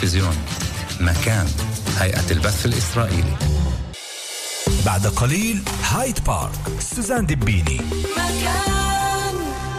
التلفزيون. مكان، هيئة البث الإسرائيلي. بعد قليل هايد بارك، سوزان دبيني. مكان.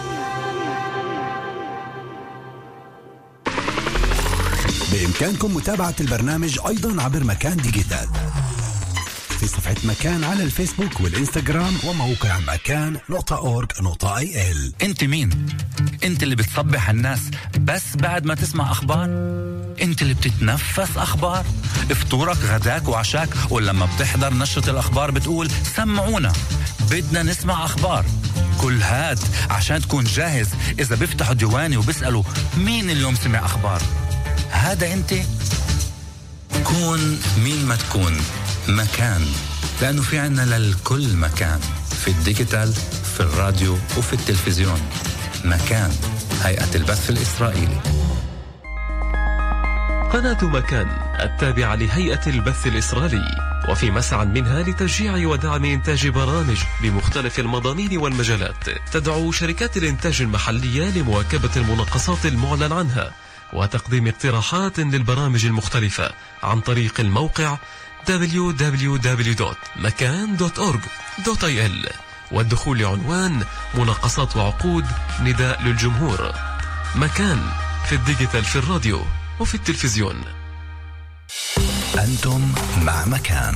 بإمكانكم متابعة البرنامج أيضا عبر مكان ديجيتال في صفحة مكان على الفيسبوك والإنستغرام وموقع مكان.org.il. انت مين؟ انت اللي بتصبح الناس بس بعد ما تسمع أخبار؟ انت اللي بتتنفس أخبار؟ فطورك غداك وعشاك، ولما بتحضر نشرة الأخبار بتقول سمعونا بدنا نسمع أخبار؟ كل هاد عشان تكون جاهز إذا بيفتحوا ديواني وبيسألوا مين اليوم سمع أخبار. هذا انت. كون مين ما تكون. مكان، لأنه في عنا للكل مكان، في الديجيتال، في الراديو وفي التلفزيون. مكان، هيئة البث الإسرائيلي. قناة مكان التابعة لهيئة البث الإسرائيلي، وفي مسعى منها لتشجيع ودعم إنتاج برامج بمختلف المضامين والمجالات. تدعو شركات الإنتاج المحلية لمواكبة المناقصات المعلن عنها وتقديم اقتراحات للبرامج المختلفة عن طريق الموقع www.makan.org.il، والدخول لعنوان مناقصات وعقود نداء للجمهور. مكان، في الديجيتال، في الراديو وفي التلفزيون. أنتم مع مكان.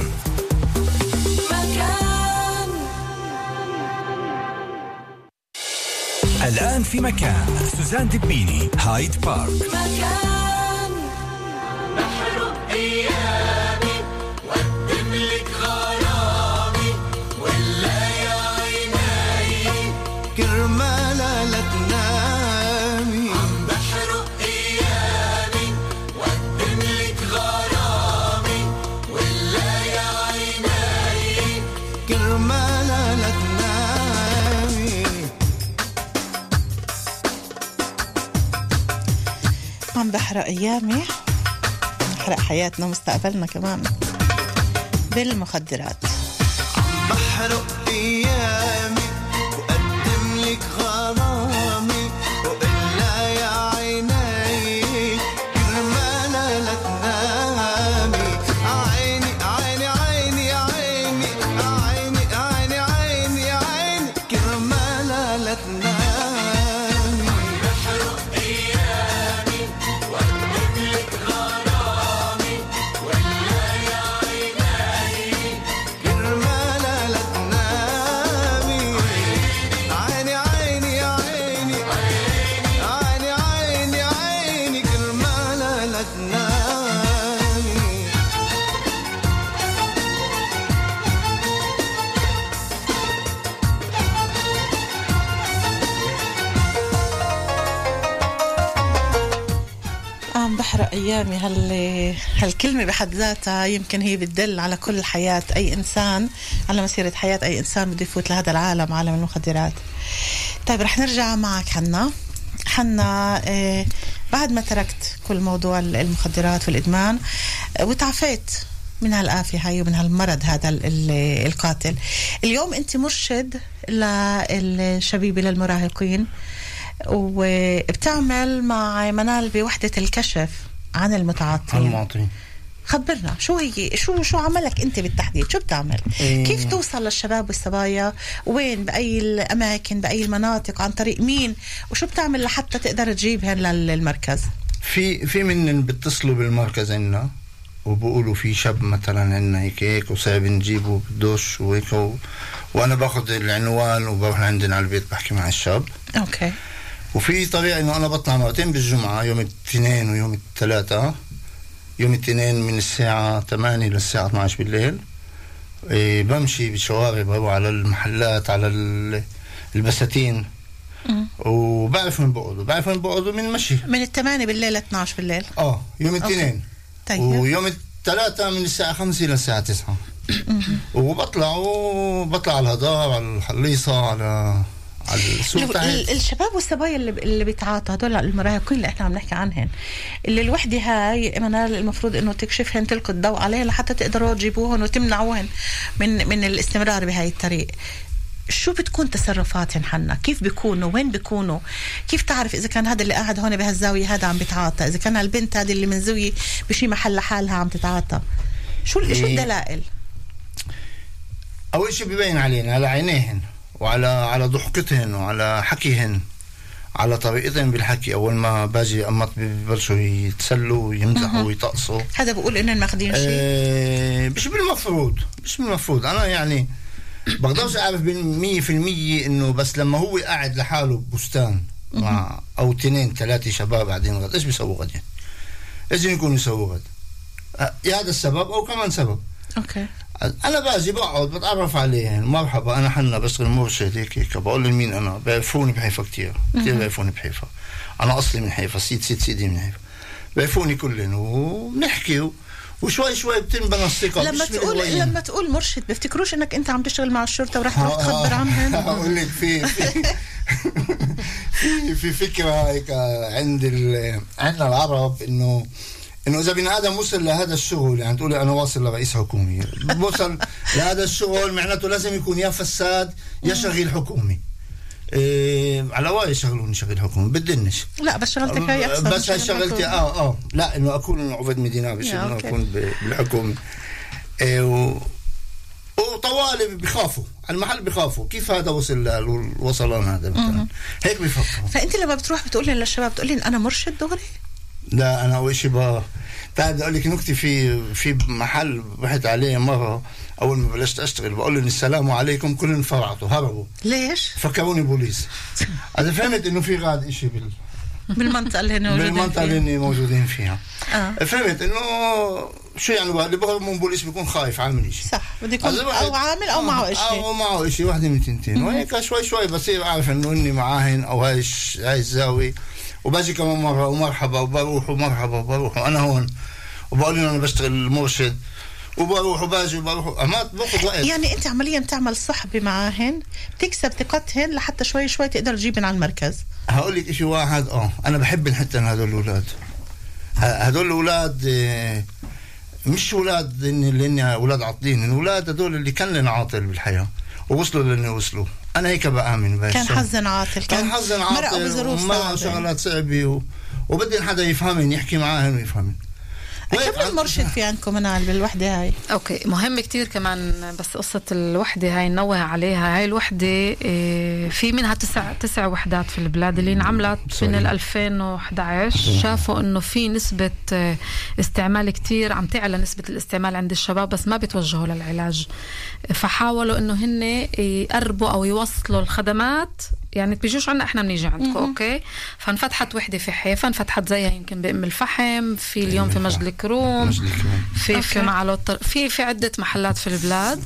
مكان. الآن في مكان سوزان دبيني، هايد بارك. مكان. بحر أيامي وأدملك غرامي ولا يا عيناي كرمالة لا تنامي. عم بحر أيامي وأدملك غرامي ولا يا عيناي كرمالة لا تنامي. عم بحرق أيامي، بحرق حياتنا ومستقبلنا كمان بالمخدرات. عم بحرق أيامي وأقدم لك غرامي وإلا يا عيني كرمالة لا تنامي. عيني عيني عيني عيني عيني عيني عيني عيني كرمالة لا تنامي. بحرق أيامي، هالكلمة بحد ذاتها يمكن هي بتدل على كل حياة أي إنسان، على مسيرة حياة أي إنسان بده يفوت لهذا العالم، عالم المخدرات. طيب رح نرجع معك حنا بعد ما تركت كل موضوع المخدرات والإدمان وتعافيت من هالآفة هاي ومن هالمرض هذا القاتل، اليوم أنت مرشد للشبيبة للمراهقين وبتعمل مع منال بوحدة الكشف عن المتعاطين. خبرنا شو هي، شو عملك انت بالتحديد، شو بتعمل؟ كيف توصل للشباب والصبايا، وين، بأي الأماكن، بأي المناطق، عن طريق مين، وشو بتعمل لحتى تقدر تجيبهن للمركز؟ في من بيتصلوا بالمركز عنا وبقولوا في شاب مثلا عنا هيك وصعب نجيبه بدوش وهيك وانا باخذ العنوان وبروح عندنا على البيت بحكي مع الشاب. اوكي. وفي طبيعي انه انا بطلع مرتين بالجمعة، يوم الاثنين ويوم الثلاثة. يوم الاثنين من الساعة 8 للساعة 12 بالليل. بمشي بالشوارع، بروح على المحلات، على البساتين، وبعرف من بقعدوا من مشي من 8 بالليل ل 12 بالليل. يوم الاثنين. طيب. ويوم الثلاثة من الساعة 5 للساعة 9. وبطلع على الهضار، على الحليصة، على السوق. الشباب والصبايا اللي بيتعاطوا، هدول المراهقين اللي احنا عم نحكي عنهن، اللي الوحدة هاي منال المفروض انه تكشفهن، تلقي الضوء عليها لحتى تقدروا تجيبوهن وتمنعوهن من الاستمرار بهاي الطريق. شو بتكون تصرفاتهم حنا؟ كيف بيكونوا؟ وين بيكونوا؟ كيف تعرف إذا كان هذا اللي قاعد هون بهالزاوية هذا عم بتعاطى؟ إذا كان البنت هذه اللي من زاوية بشي محل لحالها عم تتعاطى؟ شو الدلائل؟ أول شيء بيبين علينا على عينيهن وعلى ضحكتهن وعلى حكيهن، على طريقتهم بالحكي. أول ما باجي أمط ببلشوا يتسلوا ويمزحوا ويطقصوا. هذا بقول إنهم ماخدين شيء؟ مش بالمفروض. أنا يعني بقدرش أعرف 100% إنه بس لما هو قاعد لحاله ببستان مع أو 2-3 شباب قاعدين غد، إيش بيسووا غد؟ لازم يكونوا يسووا غد. يا هذا السبب أو كمان سبب. أوكي. أنا باجي بقعد بتعرف عليهم، مرحبا أنا حنا بشتغل مرشد هيك بقول لهم مين أنا. بيعرفوني بحيفا كتير بيعرفوني بحيفا. أنا أصلي من حيفا، سيدي من حيفا. بيعرفوني كلهم وبنحكي وشوي شوي بتنبنى الثقة. لما تقول مرشد بيفتكروش انك انت عم تشتغل مع الشرطة ورح تروح تخبر عنهم. اقول لك في فكرة هيك عندنا العرب انه اذا بني ادم وصل لهذا الشغل، يعني تقولي انا واصل لرئيس حكومي، وصل لهذا الشغل معناته لازم يكون يا فساد يا شغيل حكومي. على واي يشغلوني شغل حكومي بدنش. لا بس شغلتك هي احسن. بس هاي شغلتي لا انه اكون عبد مدينه مش انه اكون بالحكومه. وطوالي بيخافوا على المحل، بيخافوا كيف هذا وصلان هذا مثلا هيك بيفكروا. فانت لما بتروح بتقول للشباب بتقول لي انا مرشد دغري؟ لا انا اول شيء تعال اقول لك نكتة في محل رحت عليه مره اول ما بلشت اشتغل، بقول لهم السلام عليكم، كلهم فرعطوا هربوا. ليش؟ فكروني بوليس. انا فهمت انه في غاد اشي بالمنطقه اللي موجودين فيها. فهمت انه شو يعني اللي بهرب من بوليس بيكون خايف عامل شيء. صح، بده يكون او عامل او معه شيء او معه شيء، واحده من تنتين. وهيك شوي بصير اعرف انه اني معاهن او هاي الزاويه. وباجي كمان مره ومرحبا وبروح انا هون وبقول لهم انا بشتغل مرشد وبروح وباجي وبروح. ما باخذ وقت. يعني انت عمليا بتعمل صحبه معاهن، بتكسب ثقتهن لحتى شوي تقدر تجيبن على المركز. هقول لك شيء واحد، انا بحب حتى هذول الاولاد. هذول الاولاد مش اولاد اللي اولاد عاطلين، الاولاد هذول اللي كان لنا عاطل بالحياه ووصلوا للي وصلوا. انا هيك بآمن بهالشيء. كان حزن عاطل مرقوا بظروف صعبه، شغلات صعبه وبدي حدا يفهمني، يحكي معاهم ويفهمني. كم مرشد في عندكم منال بالوحدة هاي؟ اوكي، مهم كتير كمان. بس قصة الوحدة هاي ننوه عليها. هاي الوحدة في منها 9 وحدات في البلاد اللي انعملت من 2011. شافوا انه في نسبة استعمال كتير، عم تعلى نسبة الاستعمال عند الشباب، بس ما بيتوجهوا للعلاج. فحاولوا انه هن يقربوا او يوصلوا الخدمات، يعني بيجوش عنا احنا بنيجي عندكم. اوكي، فانفتحت وحده في حيفا، انفتحت زيها يمكن بأم الفحم، في اليوم في مجد الكروم، في معلوت، في عده محلات في البلاد.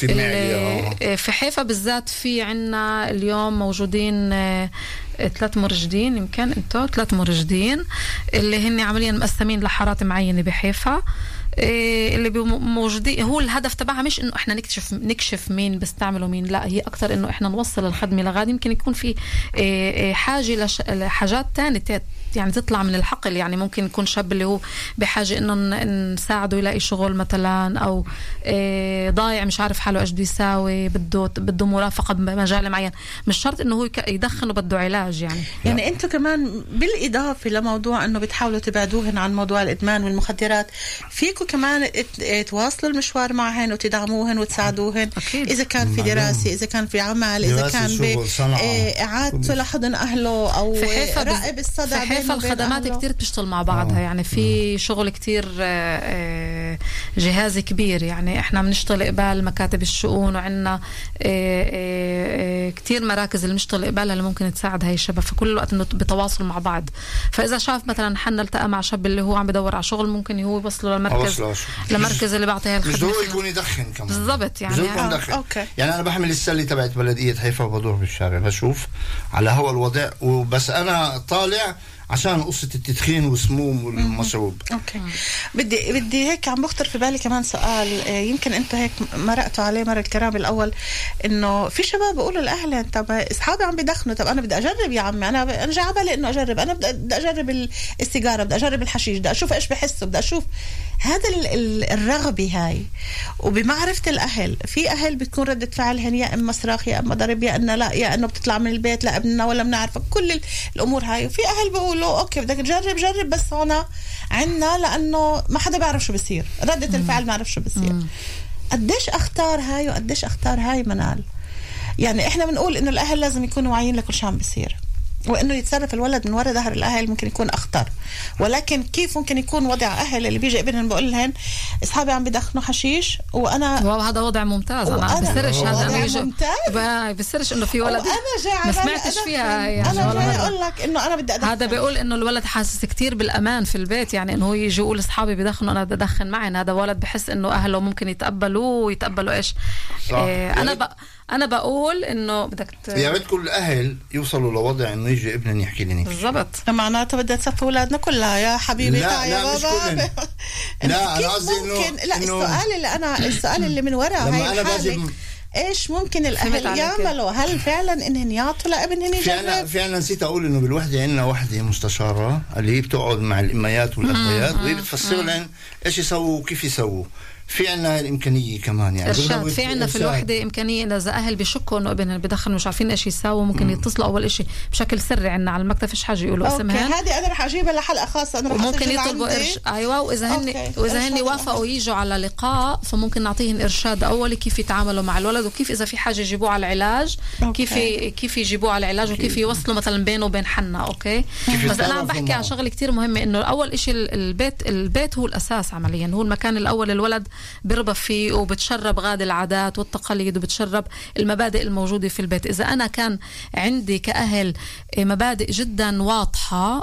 في حيفا بالذات في عنا اليوم موجودين 3 مرشدين، يمكن انتو 3 مرشدين اللي هن عمليا مقسمين لحارات معينه بحيفا. اللي موجودين، هو الهدف تبعها مش انه احنا نكشف مين بيستعملوا مين، لا، هي اكثر انه احنا نوصل الخدمه لغاد. يمكن يكون في حاجه لحاجات تانية يعني تطلع من الحقل. يعني ممكن يكون شاب اللي هو بحاجه انه نساعده يلاقي شغل مثلا، او ضايع مش عارف حاله ايش بده يساوي، بده مرافقه بمجال معين، مش شرط انه هو يدخن وبده علاج. يعني انتم كمان بالاضافه لموضوع انه بتحاولوا تبعدوهن عن موضوع الادمان والمخدرات، فيكم كمان تواصلوا المشوار معهن وتدعموهن وتساعدوهن. أكيد. اذا كان في دراسه، اذا كان في عمل، اذا كان باعادته لحضن اهله او راقب الصدى. حيفا الخدمات كتير بتشتغل مع بعضها. يعني في شغل كتير جهازي كبير. يعني احنا بنشتغل قبال مكاتب الشؤون، وعنا كتير مراكز اللي بنشتغل قبالها اللي ممكن تساعد هاي الشباب. فكل الوقت انه بتواصل مع بعض. فاذا شاف مثلا حنا التقى مع شاب اللي هو عم بدور على شغل، ممكن هو يوصله للمركز اللي بعطيه الخدمه. مش ضروري يكون يدخن كمان. بالضبط. يعني يعني انا بحمل السله تبعت بلديه حيفا وبدور بالشارع، بشوف على هوا الوضع، وبس انا طالع عشان قصة التدخين والسموم والمشروب. اوكي. بدي هيك عم بخطر في بالي كمان سؤال، يمكن انتم هيك مرقتوا عليه مرة الكرام الاول، انه في شباب بيقولوا لاهلهم طب اصحابي عم بدخنوا، طب انا بدي اجرب يا عمي، انا جاي على بالي انه اجرب، انا بدي اجرب السيجاره، بدي اجرب الحشيش، بدي اشوف ايش بحسوا، بدي اشوف هذا الرغبه هاي. وبمعرفه الاهل، في اهل بتكون رده فعلهم يا اما صراخ يا اما ضرب يا انه لا يا انه بتطلع من البيت لا ابننا ولا بنعرفك، كل الامور هاي. وفي اهل بيقولوا اوكي بدك تجرب بس هنا عنا لانه ما حدا بيعرف شو بصير، رده الفعل ما عرف شو بصير. قديش اختار هاي وقديش اختار هاي منال؟ يعني احنا بنقول انه الاهل لازم يكونوا واعيين لكل شيء عم بيصير، وانه يتصرف الولد من وراء ظهر الاهل ممكن يكون اخطر. ولكن كيف ممكن يكون وضع اهل اللي بيجي ابنهم بقول لهم اصحابي عم بدخنوا حشيش وانا وهذا وضع ممتاز، انا بسرش هذا بسرش انه في ولد ما سمعتش فيها يعني. انا جاي اقول لك انه انا بدي ادخن. هذا بيقول انه الولد حاسس كتير بالامان في البيت، يعني انه هو يجي يقول اصحابي بدخنوا انا بدي ادخن معهم. هذا ولد بحس انه اهله ممكن يتقبلوه ويتقبلوا ايش. انا بقول انه بدك يا ريت كل الاهل يوصلوا لوضع انه يجي ابنهم يحكي لي بالضبط. معناته بدها تصفي اولادنا كلها يا حبيبي. لا بابا لا انا قصدي انه السؤال اللي من وراء هاي الحالة ايش ممكن الاهل يعملوا؟ هل فعلا انهم يعطوا لابنهم يجرب؟ فعلا نسيت اقول انه بالوحده عندنا وحده مستشاره اللي هي بتقعد مع الاميات والابيات وهي بتفسر لهم ايش يسووا وكيف يسووا. في عنا الامكانيه كمان يعني إرشاد. في عنا في الوحده امكانيه اذا اهل بشكوا انه ابنهم بدخن مش عارفين ايش يساووا ممكن يتصلوا اول شيء بشكل سري عنا على المكتب، فيش حاجه يقولوا اسمها. هذه انا رح اجيبها لحلقه خاصه، انا رح ممكن يطلبوا ايوه. واذا هن وافقوا يجوا على لقاء فممكن نعطيهم ارشاد اولي كيف يتعاملوا مع الولد وكيف اذا في حاجه يجيبوه على العلاج كيف يجيبوه على العلاج وكيف يوصلوا مثلا بينه وبين حنا. اوكي بس انا عم بحكي عن شغله كتير مهمه، انه اول شيء البيت هو الاساس عمليا، هو المكان الاول الولد بيربى فيه وبتشرب غاد العادات والتقاليد وبتشرب المبادئ الموجودة في البيت. إذا أنا كان عندي كأهل مبادئ جدا واضحة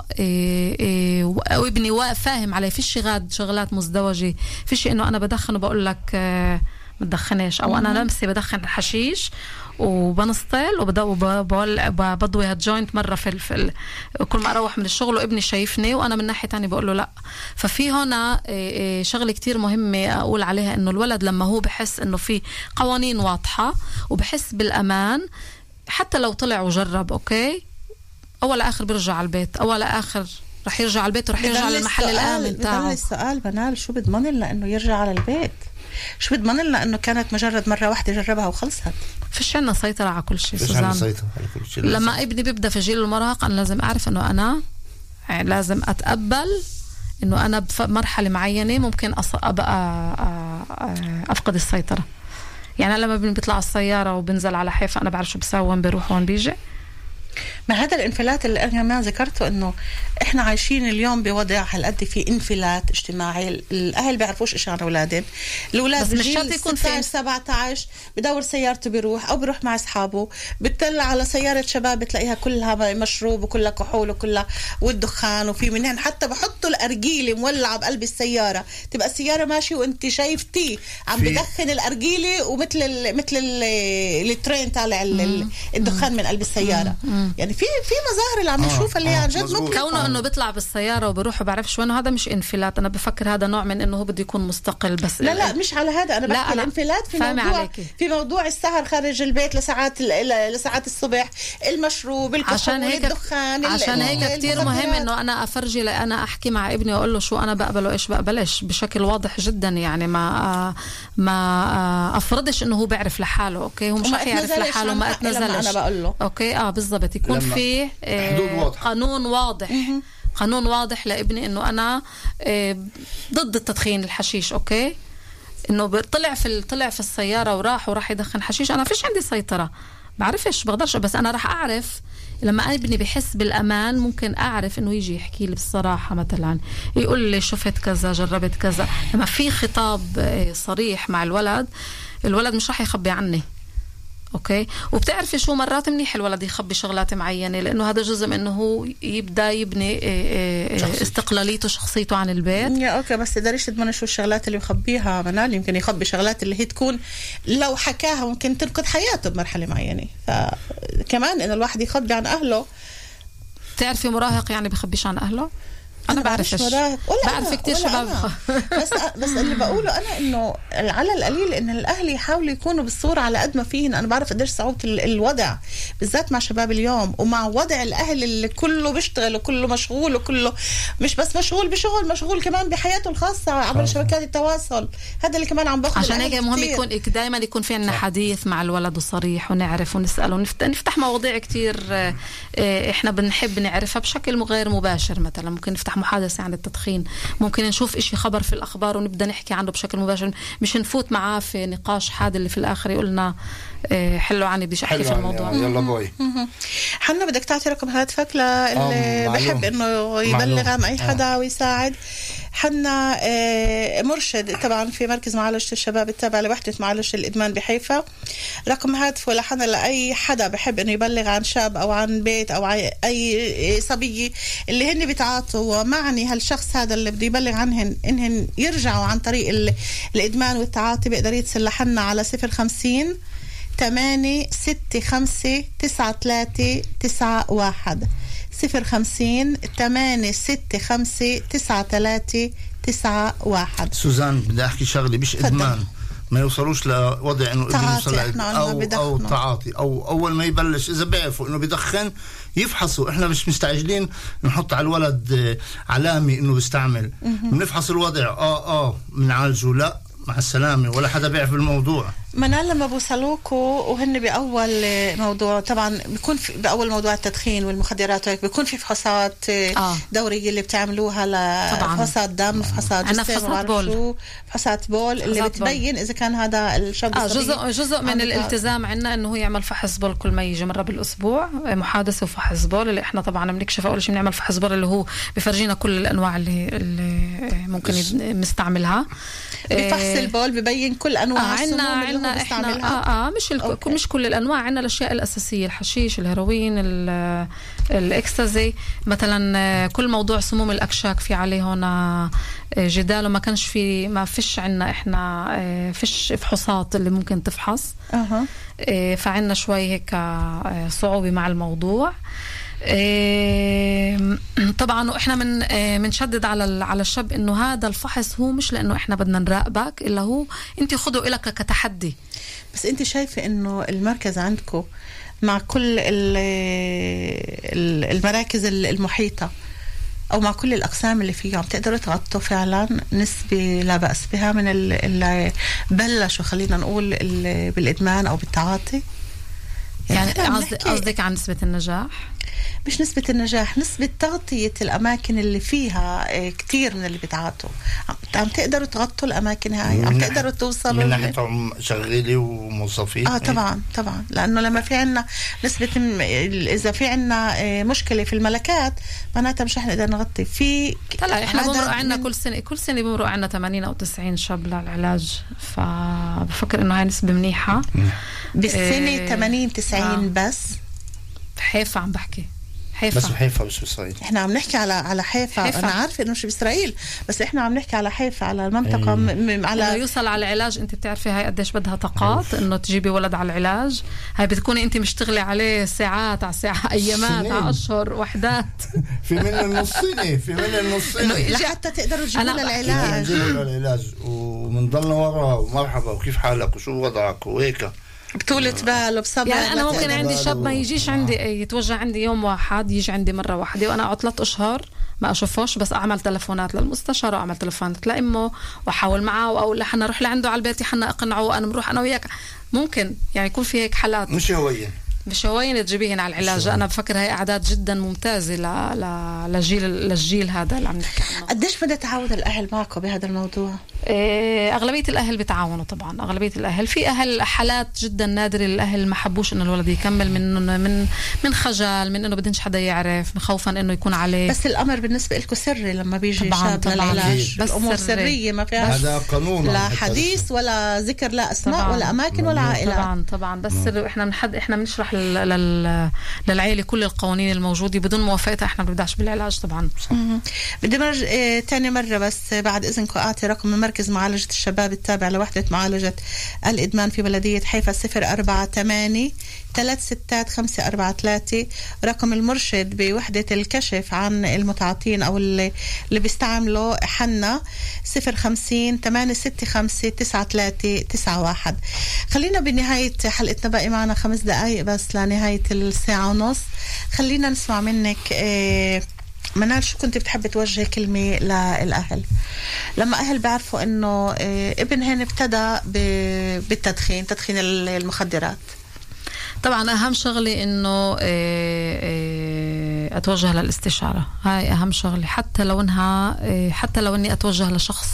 وابني فاهم عليه، فيش غاد شغلات مزدوجة، فيش إنه أنا بدخن وبقول لك ما تدخنش، أو أنا نفسي بدخن الحشيش وبنسطل وبضوي هالجوينت مرة في كل ما أروح من الشغل وابني شايفني وأنا من ناحية تانية بقول له لا. ففي هنا شغلة كتير مهمة أقول عليها، إنه الولد لما هو بحس إنه في قوانين واضحة وبحس بالأمان، حتى لو طلع وجرب أوكي أول آخر بيرجع على البيت، أول آخر رح يرجع على البيت ورح يرجع للمحل الآمن تاعه. السؤال منال شو بضمن لنا إنه يرجع على البيت؟ شو بضمن لنا انه كانت مجرد مره واحده جربها وخلصت؟ فيش عنا سيطره على كل شيء سوزان. لما ابني بيبدا في جيل المراهقه انا لازم اعرف انه انا لازم اتقبل انه انا بمرحله معينه ممكن ابقى افقد السيطره. يعني لما ابني بيطلع السياره وبنزل على حيفا انا بعرف شو بسوي، وين بيروح وين بيجي. ما هذا الانفلات اللي انا ما ذكرته، انه احنا عايشين اليوم بوضع هالقد في انفلات اجتماعي، الاهل بيعرفوش ايش عن اولادهم، الاولاد مش شرط يكون في 17 بدور سيارته بيروح او بيروح مع اصحابه، بتطلع على سياره شباب بتلاقيها كلها مشروب وكلها كحول وكلها والدخان، وفي منهن حتى بحطوا الارجيله مولعه بقلب السياره، تبقى السياره ماشي وانت شايفتي عم بدخن الارجيله ومثل الترين طالع الدخان من قلب السياره. يعني في مظاهر اللي عم نشوفها اللي عن جد ممكن كونه انه بيطلع بالسياره وبروح وبعرفش وين، هذا مش انفلات. انا بفكر هذا نوع من انه هو بده يكون مستقل. بس لا مش على هذا انا بحكي. الانفلات في موضوع السهر خارج البيت لساعات الصبح، المشروب، الكحول، الدخان. عشان هيك كتير مهم انه انا افرجي، انا احكي مع ابني واقول له شو انا بقبل وايش بقبلش بشكل واضح جدا. يعني ما افرضش انه هو بيعرف لحاله. اوكي هو مش رح يعرف لحاله ما اتنزلش. انا بقول له اوكي بالضبط يكون في قانون واضح. قانون واضح لابني انه انا ضد التدخين الحشيش. اوكي انه طلع في السياره وراح يدخن حشيش، انا فيش عندي سيطره، بعرفش بقدرش. بس انا راح اعرف لما ابني بحس بالامان، ممكن اعرف انه يجي يحكي لي بصراحه، مثلا يقول لي شفت كذا جربت كذا. لما في خطاب صريح مع الولد مش راح يخبي عني. اوكي وبتعرفي شو مرات منيح الولد يخبي شغلات معينه، لانه هذا جزء انه هو يبدا يبني استقلاليته شخصيته عن البيت. يا اوكي بس تقدريش تضمني شو الشغلات اللي يخبيها منال. يمكن يخبي شغلات اللي هي تكون لو حكاها ممكن تنقذ حياته بمرحله معينه. فكمان ان الواحد يخبي عن اهله بتعرفي مراهق يعني بخبيش عن اهله؟ انا بعرفش، بعرف كتير شباب بس اللي بقوله انا انه على القليل ان الاهل يحاولوا يكونوا بالصوره على قد ما فيهن. انا بعرف قديش صعوبه الوضع بالذات مع شباب اليوم، ومع وضع الاهل اللي كله بيشتغل وكله مشغول، وكله مش بس مشغول بشغل، مشغول كمان بحياته الخاصه عبر شبكات التواصل. هذا اللي كمان عم باخذ. عشان هيك مهم يكون دائما يكون في عندنا حديث مع الولد وصريح، ونعرف ونسال ونفتح مواضيع كتير احنا بنحب نعرفها بشكل غير مباشر. مثلا ممكن نفتح محادثة عن التدخين، ممكن نشوف إشي خبر في الأخبار ونبدأ نحكي عنه بشكل مباشر، مش نفوت معاه في نقاش حاد اللي في الآخر يقولنا حلو عني بديش أحكي في الموضوع. يلا بوي حنا بدك تعطي رقم هاتفك للي بحب إنه يبلغ عن أي حدا ويساعد. حنا مرشد طبعا في مركز معالجة الشباب التابع لوحدة معالجة الإدمان بحيفا. رقم هاتفه لحنا لأي حدا بحب إنه يبلغ عن شاب أو عن بيت أو عن أي صبية اللي هن بيتعاطوا، ومعني هالشخص هذا اللي بده يبلغ عنهن إنهن يرجعوا عن طريق الإدمان والتعاطي، بيقدر يتصل لحنا على 050 8659391 050 8659391. سوزان بدي احكي شغله، مش ادمان، ما يوصلوش لوضع انه ابن يوصل او تعاطي، او اول ما يبلش اذا بيعرفوا انه بدخن يفحصوا. احنا مش مستعجلين نحط على الولد علامه انه بيستعمل، بنفحص الوضع بنعالجه، لا مع السلامه، ولا حدا بيعرف الموضوع. منال لما بوصلوكوا وهن بأول موضوع طبعا بيكون بأول موضوع التدخين والمخدرات وهيك بيكون في فحوصات دورية اللي بتعملوها فحوصات دم، فحوصات جسم، فحوصات بول اللي بتبين إذا كان هذا الشاب جزء من الالتزام عنا إنه هو يعمل فحص بول كل ما يجي مرة بالأسبوع، محادثة وفحص بول اللي إحنا طبعا بنكشف أول شيء بنعمل فحص بول اللي هو بفرجينا كل الأنواع اللي ممكن نستعملها. بفحص البول ببين كل أنواع عنا احنا مش كل الانواع. عندنا الاشياء الاساسيه، الحشيش، الهيروين، الاكستازي مثلا. كل موضوع سموم الاكشاك في عليه هنا جدال، وما كانش في ما فيش عندنا احنا فيش فحوصات اللي ممكن تفحص. فعندنا شوي هيك صعوبه مع الموضوع. طبعا واحنا منشدد على الشاب انه هذا الفحص هو مش لانه احنا بدنا نراقبك، الا هو انت خذوا إلك كتحدي. بس انت شايفه انه المركز عندكم مع كل المراكز المحيطه او مع كل الاقسام اللي فيها بتقدروا تغطوا فعلا نسبه لا باس بها من اللي بلشوا خلينا نقول بالادمان او بالتعاطي؟ يعني قصدك عن نسبه النجاح؟ مش نسبة النجاح، نسبة تغطية الأماكن اللي فيها كتير من اللي بيتعاطوا. عم تقدروا تغطوا الأماكن هاي، عم تقدروا توصلوا من ناحية شغالي وموظفين. طبعا لأنه لما في عنا نسبة إذا في عنا مشكلة في الملكات معناتها مش رح نقدر نغطي في. لا إحنا بمرق عنا كل سنة بمرق عنا 80 أو 90 شاب للعلاج، فبفكر إنه هاي نسبة منيحة بالسنة. 80-90 بس حيفا عم بحكي بس بحيفا مش بإسرائيل. احنا عم نحكي على حيفا. انا عارفه انه مش بإسرائيل، بس احنا عم نحكي على حيفا، على المنطقه على يوصل على العلاج. انت بتعرفي هاي قديش بدها طاقات انه تجيبي ولد على العلاج. هاي بتكوني انت مشتغلي عليه ساعات على ساعة، ايامات، على اشهر، وحدات. في من النص سنه لحتى تقدروا تجيبوا للعلاج ومنضلنا وراه ومرحبا وكيف حالك وشو وضعك وهيك بطولة بال وبصبر. يعني أنا ممكن عندي شاب ما يجيش عندي يتوجه عندي يوم واحد، يجي عندي مرة واحدة وأنا أقعد 3 أشهر ما أشوفوش، بس أعمل تلفونات للمستشار وأعمل تلفونات لأمه وأحاول معه وأقول حنا نروح لعنده على البيت، حنا أقنعه وأنا بروح أنا وياك. ممكن يعني يكون في هيك حالات مش هوين تجيبيهن على العلاج. أنا بفكر هاي أعداد جدا ممتازة للجيل هذا اللي عم نحكي عنه. قديش بدأ تعاون الأهل معكم بهذا الموضوع؟ أغلبية الأهل بتعاونوا طبعا، أغلبية الأهل. في أهل حالات جدا نادرة الأهل ما حبوش إنه الولد يكمل من خجل، من إنه بدنش حدا يعرف، من خوفا إنه يكون عليه. بس الأمر بالنسبة لكم سري لما بيجي شاب للعلاج، بس الأمور سرية ما فيها هذا قانون، لا حديث ولا ذكر، لا أسماء طبعاً. ولا أماكن ولا عائلات. طبعا بس سري. إحنا بنشرح للعائلة كل القوانين الموجودة، بدون موافقتها إحنا ما بنبدأش بالعلاج طبعا. بدي تاني مرة بس بعد إذنكم أعطي رقم المركز مركز معالجة الشباب التابع لوحدة معالجة الإدمان في بلدية حيفا 048-36-543. رقم المرشد بوحدة الكشف عن المتعاطين أو اللي بيستعملوا حنا 050-865-9391. خلينا بنهاية حلقتنا، باقي معنا 5 دقايق بس لنهاية الساعة ونص. خلينا نسمع منك منال، شو كنت بتحب توجه كلمة للأهل لما أهل بيعرفوا إنه ابنهن ابتدى بالتدخين، تدخين المخدرات؟ طبعا أهم شغلة إنه أتوجه للاستشارة، هاي أهم شغلة. حتى لو إني أتوجه لشخص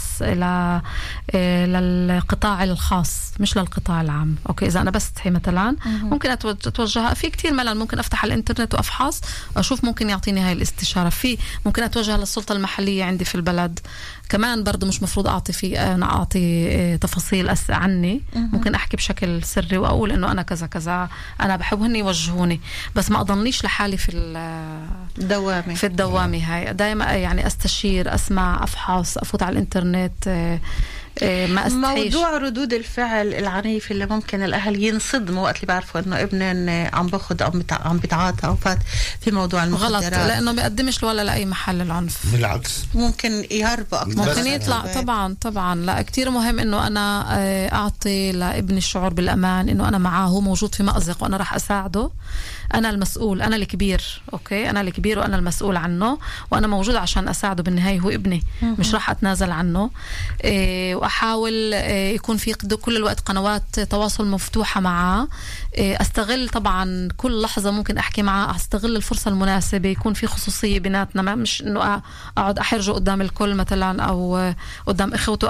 للقطاع الخاص مش للقطاع العام. أوكي، إذا أنا بستحي مثلا ممكن أتوجه في كتير ملل، ممكن أفتح الإنترنت وأفحص أشوف ممكن يعطيني هاي الاستشارة. ممكن أتوجه للسلطة المحلية عندي في البلد. كمان برضو مش مفروض أنا أعطي تفاصيل عني. ممكن أحكي بشكل سري وأقول إنه أنا كذا كذا، أنا بحبهن يوجهوني، بس ما أضلنيش لحالي في الدوامة هاي. دايما يعني أستشير، أسمع، أفحص، أفوت على الإنترنت، ما أستحيش. موضوع ردود الفعل العنيف اللي ممكن الأهل ينصدموا وقت اللي بيعرفوا إنه ابنن عم باخد أو عم بتعاطى أو فات في موضوع المخدرات، غلط، لأنه ما بيقدمش ولا لأي محل العنف. بالعكس ممكن يهربوا أكثر، ممكن يطلع. طبعا لا، كتير مهم إنه أنا أعطي لابني الشعور بالأمان، إنه أنا معاه، هو موجود في مأزق وأنا راح أساعده. أنا المسؤول، أنا الكبير. أوكي، أنا الكبير وأنا المسؤول عنه، وأنا موجود عشان أساعده. بالنهاية هو ابني، مش راح أتنازل عنه. وأحاول يكون في كل الوقت قنوات تواصل مفتوحة معه. أستغل طبعا كل لحظة ممكن أحكي معه، أستغل الفرصة المناسبة، يكون في خصوصية بيناتنا، مش إنه أقعد أحرجه قدام الكل مثلا أو قدام إخوته.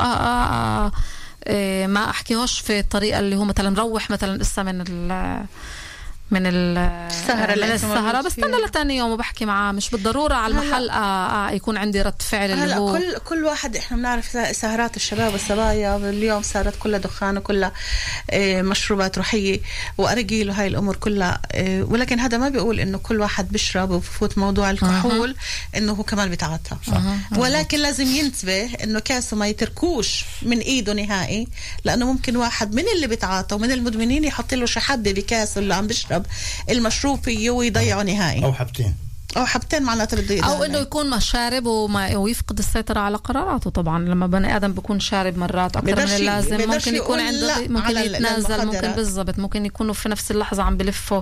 ما أحكيهوش في الطريقة اللي هو مثلا روح مثلا إسا من السهرة بستنى لتاني يوم وبحكي معاه. مش بالضرورة على المحل يكون عندي رد فعل اللي هو كل واحد. احنا بنعرف سهرات الشباب والصبايا اليوم صارت كلها دخان وكلها مشروبات روحية وأرجيل وهاي الأمور كلها، ولكن هذا ما بيقول إنه كل واحد بيشرب وبفوت موضوع الكحول إنه هو كمان بيتعاطى. ولكن لازم ينتبه إنه كاسه ما يتركوش من إيده نهائي، لأنه ممكن واحد من اللي بيتعاطى ومن المدمنين يحط له شحبة بكاسه اللي عم بيشرب المشروب فيه ويضيعه نهائي، أو حبتين معناته بده يدعم، أو إنه يكون شارب ويفقد السيطرة على قراراته. طبعا لما بني آدم بيكون شارب مرات أكثر من اللازم ممكن يكون عنده، ممكن يتنازل، ممكن بالضبط، ممكن يكونوا في نفس اللحظة عم بلفوا،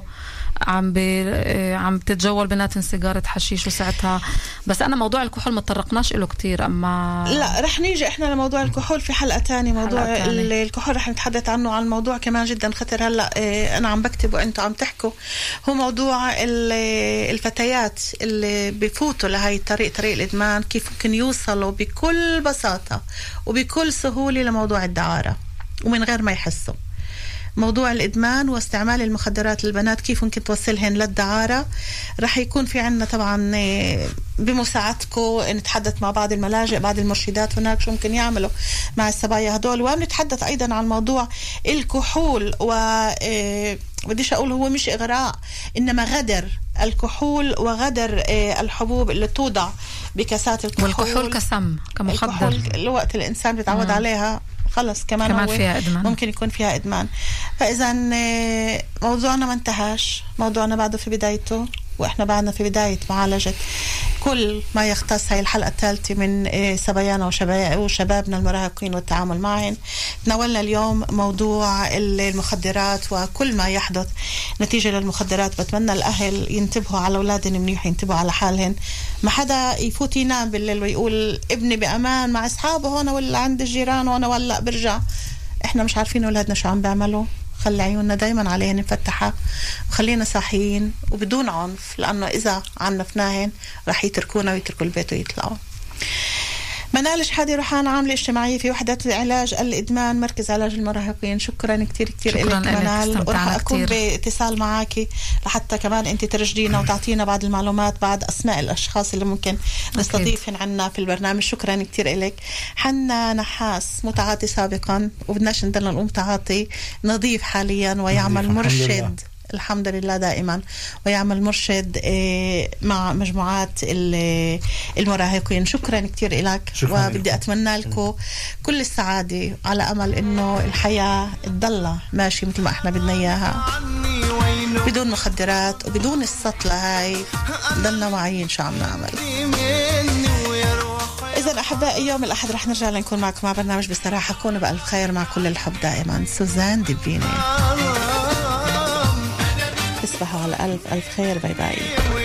عم تتجول بيناتهم سيجارة حشيش وساعتها. بس أنا موضوع الكحول ما تطرقناش له كتير، أما لا رح نيجي إحنا لموضوع الكحول في حلقة تانية. موضوع الكحول رح نتحدث عنه، عن موضوع كمان جدا خطر. هلأ أنا عم بكتب وأنتوا عم تحكوا، هو موضوع الفتيات اللي بيفوتوا لهاي طريق الإدمان، كيف ممكن يوصلوا بكل بساطة وبكل سهولة لموضوع الدعارة ومن غير ما يحسوا. موضوع الإدمان واستعمال المخدرات للبنات كيف ممكن توصلهن للدعارة. رح يكون في عنا طبعا بمساعدتكم نتحدث مع بعض الملاجئ، بعض المرشدات هناك شو ممكن يعملوا مع الصبايا هدول. ونتحدث أيضا عن موضوع الكحول، بديش أقول هو مش إغراء، إنما غدر الكحول وغدر الحبوب اللي توضع بكاسات الكحول. والكحول كسم كمخدر، الوقت الإنسان بيتعود عليها خلص كمان فيها إدمان. ممكن يكون فيها إدمان. فإذا موضوعنا ما انتهاش، موضوعنا بعده في بدايته، وإحنا بعدنا في بداية معالجة كل ما يختص هاي الحلقة الثالثة من صبايانا وشبابنا المراهقين والتعامل معهم. تناولنا اليوم موضوع المخدرات وكل ما يحدث نتيجة للمخدرات. بتمنى الأهل ينتبهوا على أولادهم منيح، ينتبهوا على حالهم. ما حدا يفوت ينام بالليل ويقول ابني بأمان مع أصحابه هون ولا عند الجيران هون ولا برجع. إحنا مش عارفين أولادنا شو عم بيعملوا. خلي عيوننا دايما عليهن مفتحة، وخلينا صاحيين وبدون عنف، لأنه إذا عنفناهن رح يتركونا ويتركوا البيت ويطلعوا. منال شحادي، روحان عاملة اجتماعية في وحدة علاج الإدمان مركز علاج المراهقين. شكرا كتير لك منال، ورح أكون باتصال معاكي لحتى كمان أنت ترشدينا وتعطينا بعض المعلومات، بعد أسماء الأشخاص اللي ممكن نستضيفهم عنا في البرنامج. شكرا كتير لك. حنا نحاس متعاطي سابقا وبدناش ندلنا نقوم تعاطي، نظيف حاليا ويعمل مرشد الحمد لله دائما، ويعمل مرشد مع مجموعات المراهقين. شكرا كتير لك، وبدي أتمنى لكم كل السعادة، على أمل إنه الحياة تضل ماشي مثل ما إحنا بدنا إياها، بدون مخدرات وبدون السطلة هاي. ضلنا معين شو عم نعمل. إذا أحبائي يوم الأحد رح نرجع لنكون معكم مع برنامج بصراحة. كونوا بألف خير مع كل الحب دائما. سوزان دبيني، تصبحوا على ألف ألف خير. باي باي.